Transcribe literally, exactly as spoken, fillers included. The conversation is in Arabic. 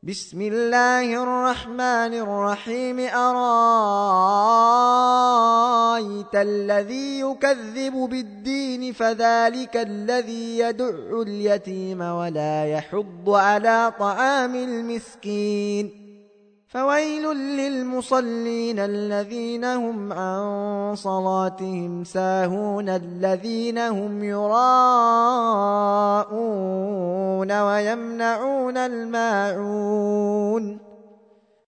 بسم الله الرحمن الرحيم أرايت الذي يكذب بالدين فذلك الذي يدع اليتيم ولا يحض على طعام المسكين فويل للمصلين الذين هم عن صلاتهم ساهون الذين هم يراءون ويمنعون الماعون